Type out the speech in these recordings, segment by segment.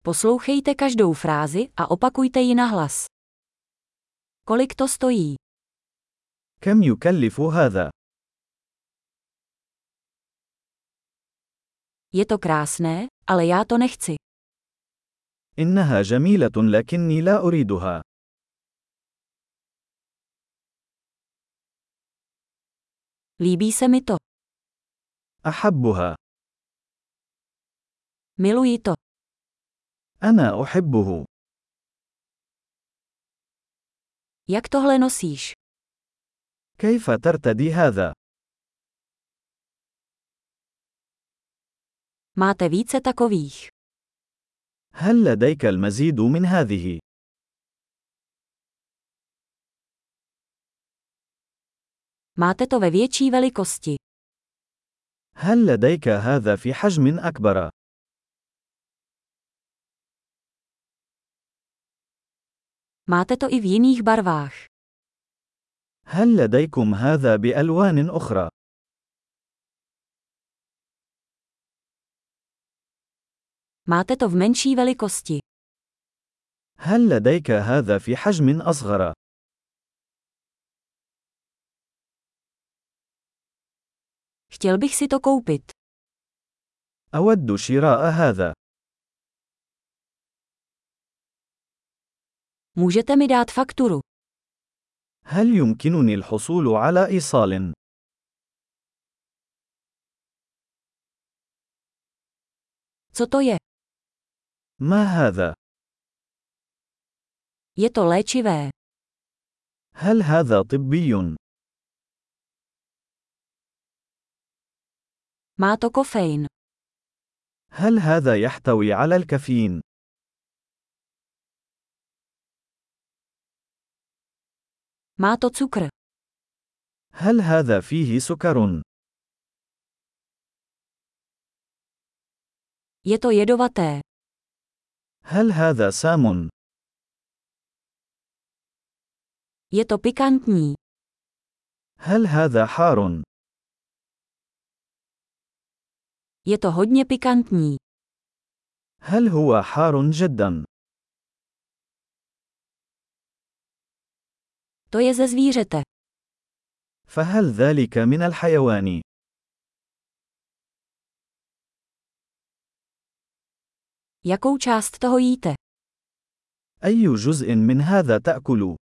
Poslouchejte každou frázi a opakujte ji nahlas. Kolik to stojí? كم يكلف هذا؟ Je to krásné, ale já to nechci. إنها جميلة لكني لا أريدها. Líbí se mi to. أحبها. Miluji to. أنا أحبه. Jak tohle nosíš? كيف ترتدي هذا؟ Máte více takových. هل لديك المزيد من هذه؟ Máte to ve větší velikosti. هل لديك هذا في حجم أكبر؟ Máte to i v jiných barvách. هل لديكم هذا بألوان أخرى؟ Máte to v menší velikosti. هل لديك هذا في حجم أصغر؟ Chtěl bych si to koupit. أود شراء هذا. Můžete mi dát fakturu. هل يمكنني الحصول على إيصال؟ Co to je? ما هذا؟ Je to léčivé. هل هذا طبي؟ Má to kofein. هل هذا يحتوي على الكافيين؟ Má to cukr. هل هذا فيه سكر؟ Je to jedovaté. هل هذا سام؟ Je to pikantní. هل هذا حار؟ Je to hodně pikantní. هل هو حار جدا؟ To je ze zvířete. فهل ذلك من الحيوان؟ Jakou část toho jíte? أي جزء من هذا تأكل؟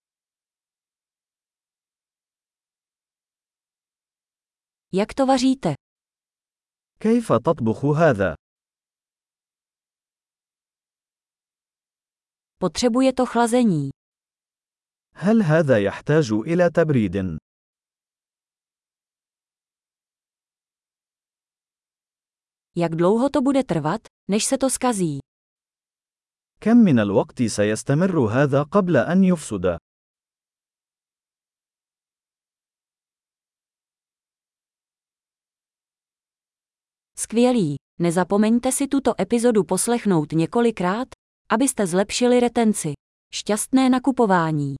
Jak to vaříte? كيف تطبخ هذا؟ Potřebuje to chlazení. هل هذا يحتاج إلى تبريد؟ Jak dlouho to bude trvat, než se to zkazí? كم من الوقت سيستمر هذا قبل أن يفسد؟ Skvělý. Nezapomeňte si tuto epizodu poslechnout několikrát, abyste zlepšili retenci. Šťastné nakupování.